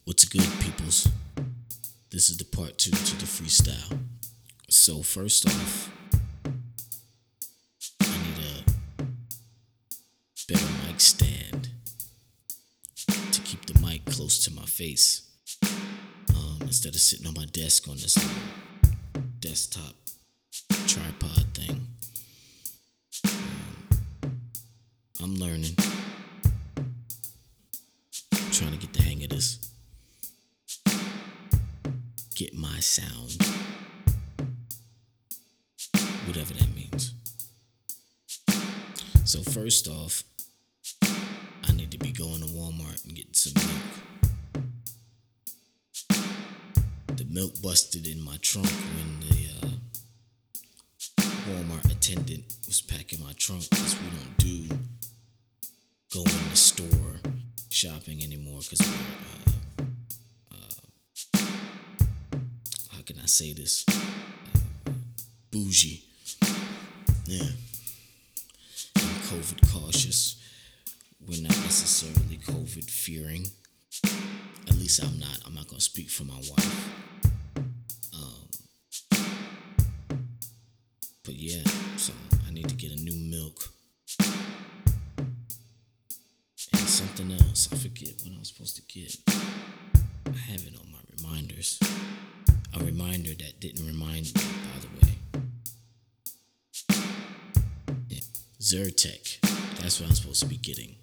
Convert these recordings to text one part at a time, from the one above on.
What's good, peoples? This is the part two to the freestyle. So first off, I need a better mic stand to keep the mic close to my face, instead of sitting on my desk on this little desktop tripod thing. I'm learning, trying to get the hang of this. Get my sound, whatever that means. So first off, I need to be going to Walmart and getting some milk. The milk busted in my trunk when the Walmart attendant was packing my trunk, because we don't do go in the store shopping anymore, because we're how can I say this? Bougie. Yeah. I'm COVID cautious. We're not necessarily COVID fearing. At least I'm not. I'm not gonna speak for my wife. But yeah, so I need to get a new milk. And something else. I forget what I was supposed to get. I have it on my reminders. A reminder that didn't remind me, by the way. Yeah. Zyrtec. That's what I'm supposed to be getting.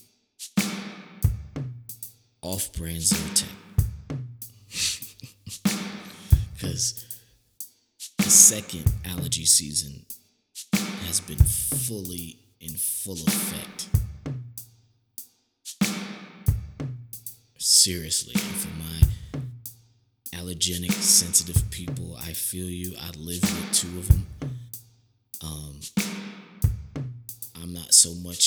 Off-brand Zyrtec. Because the second allergy season has been fully in full effect. Seriously, for my allergenic, sensitive people, I feel you. I live with two of them. I'm not so much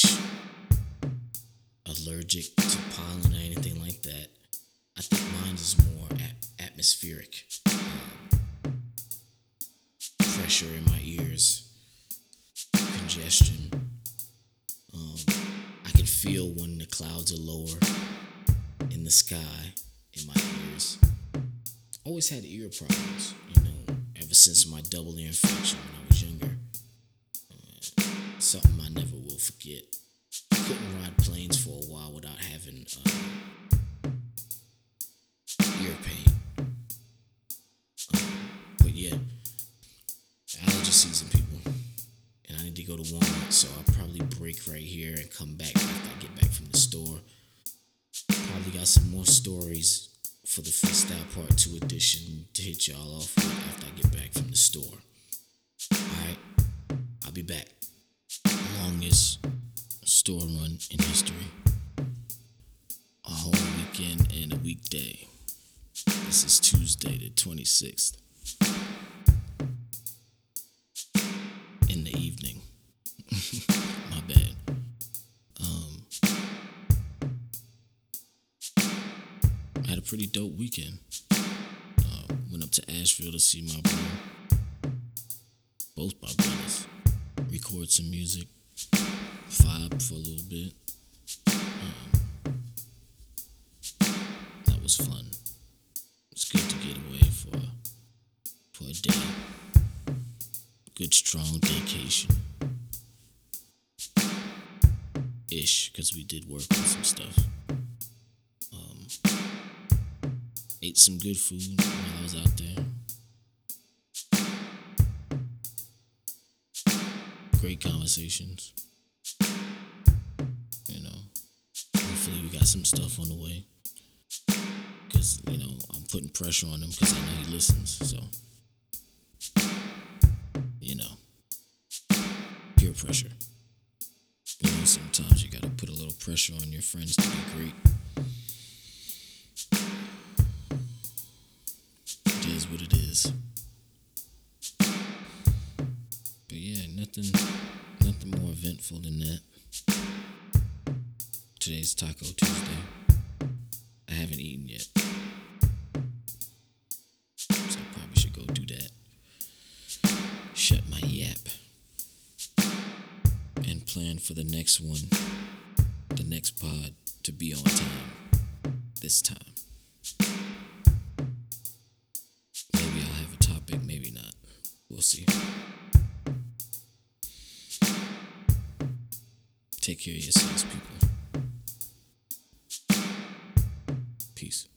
allergic to pollen or anything like that. I think mine is more atmospheric. Pressure in my ears, congestion. I can feel when the clouds are lower in the sky in my ears. Always had ear problems, ever since my double ear infection when I was younger. Something I never will forget. Couldn't ride planes for a while without having ear pain. But yeah, allergy season, people. And I need to go to Walmart, so I'll probably break right here and come back after I get back from the store. Probably got some more stories for the freestyle part 2 edition to hit y'all off with after I get back from the store. Alright, I'll be back. Longest store run in history. A whole weekend and a weekday. This is Tuesday the 26th. In the evening. My bad. I had a pretty dope weekend. Went up to Asheville to see my brother. Both my brothers. Record some music. Vibe for a little bit. That was fun. It's good to get away for a day. Good strong vacation. Ish, because we did work on some stuff. Ate some good food while I was out there. Great conversations. Hopefully we got some stuff on the way. Because, I'm putting pressure on him because I know he listens. So, peer pressure. Sometimes you gotta put a little pressure on your friends to be great. It is what it is. But yeah, nothing more eventful than that. Today's Taco Tuesday. I haven't eaten yet, so I probably should go do that. Shut my yap. And plan for the next one, the next pod, to be on time. This time. We'll see. Take care of yourselves, people. Peace.